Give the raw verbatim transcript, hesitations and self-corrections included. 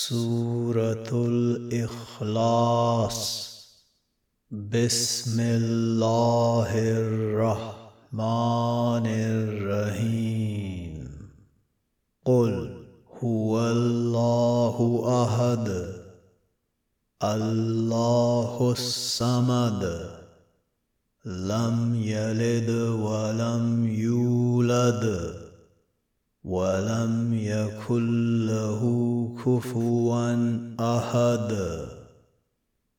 سورة الإخلاص. بسم الله الرحمن الرحيم. قل هو الله أحد الله الصمد لم يلد ولم يولد ولم يكن له كفوا أحد.